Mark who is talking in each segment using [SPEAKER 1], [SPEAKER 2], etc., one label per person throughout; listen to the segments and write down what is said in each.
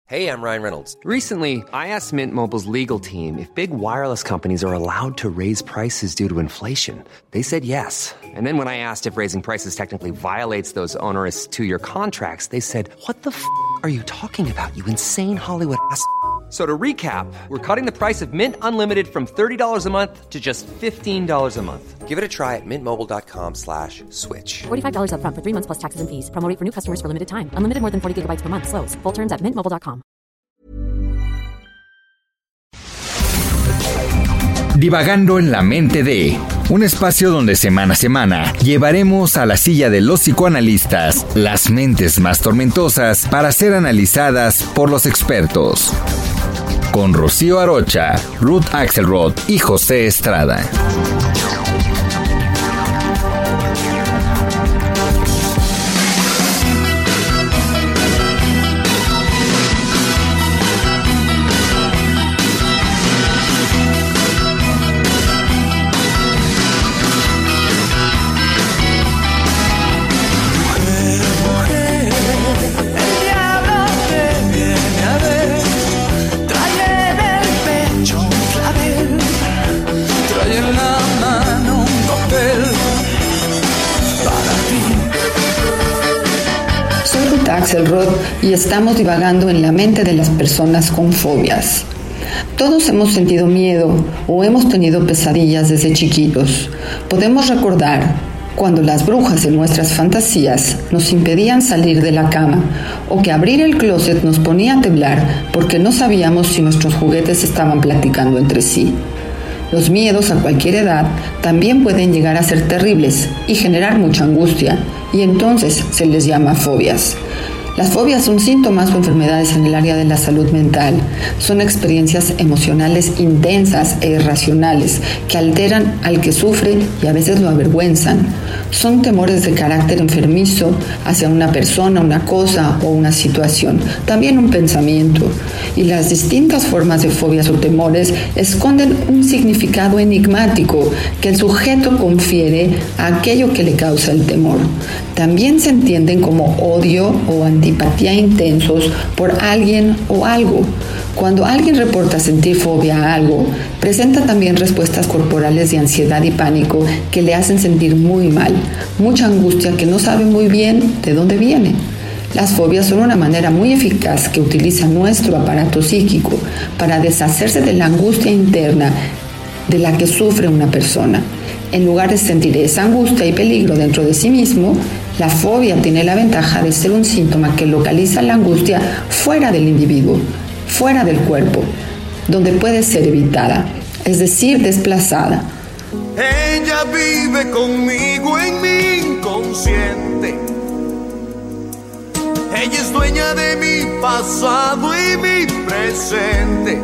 [SPEAKER 1] Hey, I'm Ryan Reynolds.
[SPEAKER 2] Recently, I asked Mint Mobile's legal team if big wireless companies are allowed to raise prices due to inflation. They said yes. And then when I asked if raising prices technically violates those onerous two-year contracts, they said, "What the f*** are you talking about, you insane Hollywood ass?" So to recap, we're cutting the price of Mint Unlimited from $30 a month to just $15 a month.
[SPEAKER 1] Give it a try at mintmobile.com/switch.
[SPEAKER 3] $45 up front for 3 months plus taxes and fees. Promo rate for new customers for limited time. Unlimited more than 40 gigabytes per month. Slows full terms at mintmobile.com.
[SPEAKER 4] Divagando en la mente de... Un espacio donde semana a semana llevaremos a la silla de los psicoanalistas las mentes más tormentosas para ser analizadas por los expertos. Con Rocío Arocha, Ruth Axelrod y José Estrada.
[SPEAKER 5] Axelrod y estamos divagando en la mente de las personas con fobias. Todos hemos sentido miedo o hemos tenido pesadillas desde chiquitos. Podemos recordar cuando las brujas en nuestras fantasías nos impedían salir de la cama o que abrir el closet nos ponía a temblar porque no sabíamos si nuestros juguetes estaban platicando entre sí. Los miedos a cualquier edad también pueden llegar a ser terribles y generar mucha angustia, y entonces se les llama fobias. Las fobias son síntomas o enfermedades en el área de la salud mental. Son experiencias emocionales intensas e irracionales que alteran al que sufre y a veces lo avergüenzan. Son temores de carácter enfermizo hacia una persona, una cosa o una situación, también un pensamiento. Y las distintas formas de fobias o temores esconden un significado enigmático que el sujeto confiere a aquello que le causa el temor. También se entienden como odio o antipatía intensos por alguien o algo. Cuando alguien reporta sentir fobia a algo, presenta también respuestas corporales de ansiedad y pánico que le hacen sentir muy mal, mucha angustia que no sabe muy bien de dónde viene. Las fobias son una manera muy eficaz que utiliza nuestro aparato psíquico para deshacerse de la angustia interna de la que sufre una persona. En lugar de sentir esa angustia y peligro dentro de sí mismo, la fobia tiene la ventaja de ser un síntoma que localiza la angustia fuera del individuo, fuera del cuerpo, donde puede ser evitada, es decir, desplazada.
[SPEAKER 6] Ella vive conmigo en mi inconsciente. Ella es dueña de mi pasado y mi presente.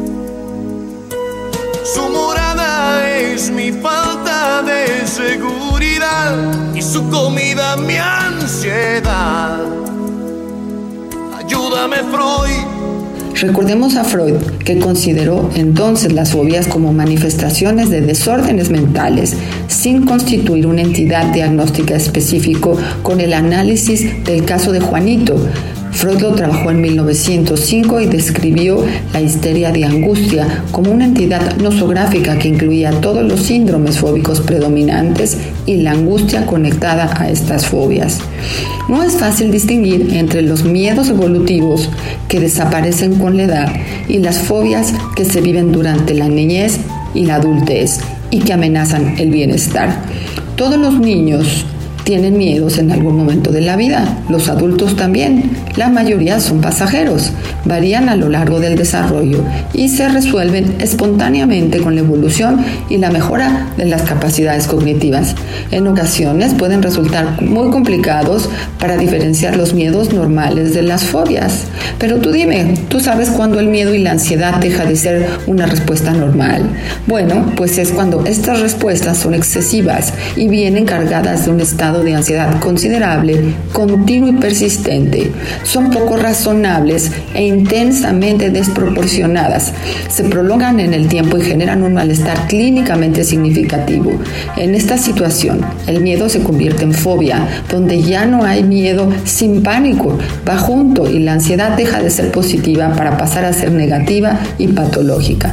[SPEAKER 6] Su morada es mi falta de seguridad y su comida mi ansiedad. Ayúdame, Freud.
[SPEAKER 5] Recordemos a Freud, que consideró entonces las fobias como manifestaciones de desórdenes mentales, sin constituir una entidad diagnóstica específico con el análisis del caso de Juanito. Freud lo trabajó en 1905 y describió la histeria de angustia como una entidad nosográfica que incluía todos los síndromes fóbicos predominantes y la angustia conectada a estas fobias. No es fácil distinguir entre los miedos evolutivos que desaparecen con la edad y las fobias que se viven durante la niñez y la adultez y que amenazan el bienestar. Todos los niños tienen miedos en algún momento de la vida, los adultos también. La mayoría son pasajeros, varían a lo largo del desarrollo y se resuelven espontáneamente con la evolución y la mejora de las capacidades cognitivas. En ocasiones pueden resultar muy complicados para diferenciar los miedos normales de las fobias. Pero tú dime, ¿tú sabes cuándo el miedo y la ansiedad deja de ser una respuesta normal? Bueno, pues es cuando estas respuestas son excesivas y vienen cargadas de un estado grado de ansiedad considerable, continuo y persistente. Son poco razonables e intensamente desproporcionadas. Se prolongan en el tiempo y generan un malestar clínicamente significativo. En esta situación, el miedo se convierte en fobia, donde ya no hay miedo sin pánico, va junto y la ansiedad deja de ser positiva para pasar a ser negativa y patológica.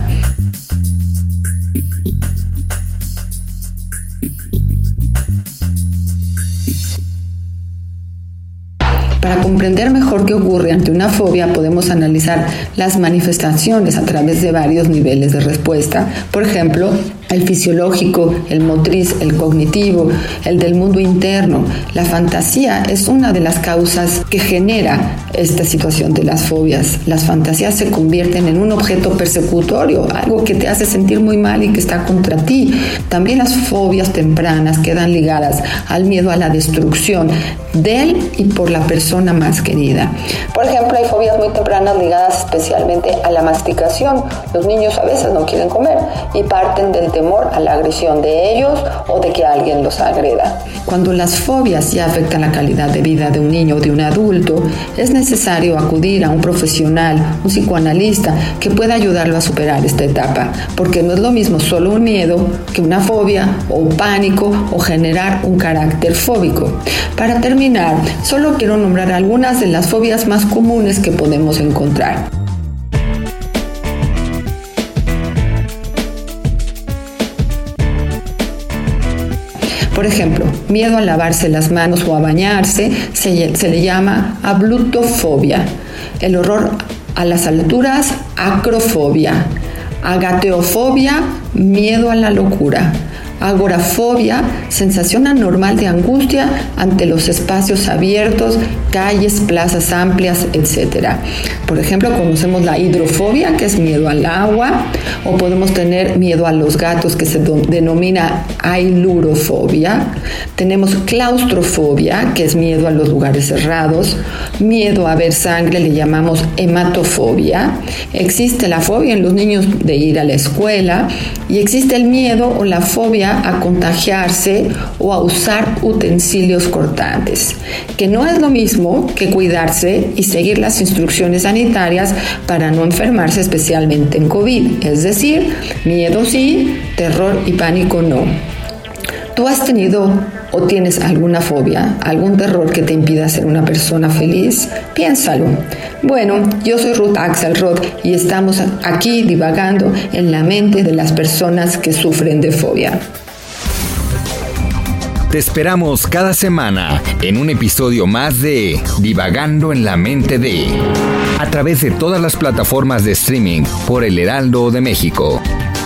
[SPEAKER 5] Para comprender mejor qué ocurre ante una fobia, podemos analizar las manifestaciones a través de varios niveles de respuesta. Por ejemplo, el fisiológico, el motriz, el cognitivo, el del mundo interno. La fantasía es una de las causas que genera esta situación de las fobias. Las fantasías se convierten en un objeto persecutorio, algo que te hace sentir muy mal y que está contra ti. También las fobias tempranas quedan ligadas al miedo a la destrucción del y por la persona más querida. Por ejemplo, hay fobias muy tempranas ligadas especialmente a la masticación. Los niños a veces no quieren comer y parten del temor a la agresión de ellos o de que alguien los agreda. Cuando las fobias ya afectan la calidad de vida de un niño o de un adulto, es necesario acudir a un profesional, un psicoanalista, que pueda ayudarlo a superar esta etapa, porque no es lo mismo solo un miedo que una fobia o un pánico o generar un carácter fóbico. Para terminar, solo quiero nombrar algunas de las fobias más comunes que podemos encontrar. Por ejemplo, miedo a lavarse las manos o a bañarse se le llama ablutofobia. El horror a las alturas, acrofobia. Agateofobia, miedo a la locura. Agorafobia, sensación anormal de angustia ante los espacios abiertos, calles, plazas amplias, etc. Por ejemplo, conocemos la hidrofobia, que es miedo al agua, o podemos tener miedo a los gatos, que se denomina ailurofobia. Tenemos claustrofobia, que es miedo a los lugares cerrados. Miedo a ver sangre le llamamos hematofobia. Existe la fobia en los niños de ir a la escuela y existe el miedo o la fobia a contagiarse o a usar utensilios cortantes, que no es lo mismo que cuidarse y seguir las instrucciones sanitarias para no enfermarse, especialmente en COVID. Es decir, miedo sí, terror y pánico no. ¿Tú has tenido o tienes alguna fobia, algún terror que te impida ser una persona feliz? Piénsalo. Bueno, yo soy Ruth Axelrod y estamos aquí divagando en la mente de las personas que sufren de fobia.
[SPEAKER 4] Te esperamos cada semana en un episodio más de Divagando en la mente de, a través de todas las plataformas de streaming por El Heraldo de México.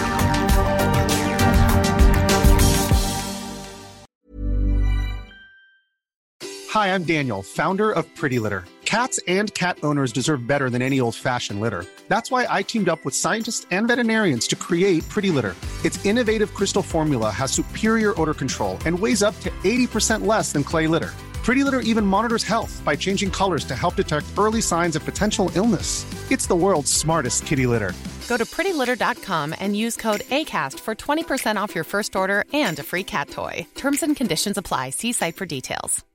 [SPEAKER 7] Hi, I'm Daniel, founder of Pretty Litter. Cats and cat owners deserve better than any old-fashioned litter. That's why I teamed up with scientists and veterinarians to create Pretty Litter. Its innovative crystal formula has superior odor control and weighs up to 80% less than clay litter. Pretty Litter even monitors health by changing colors to help detect early signs of potential illness. It's the world's smartest kitty litter.
[SPEAKER 8] Go to prettylitter.com and use code ACAST for 20% off your first order and a free cat toy. Terms and conditions apply. See site for details.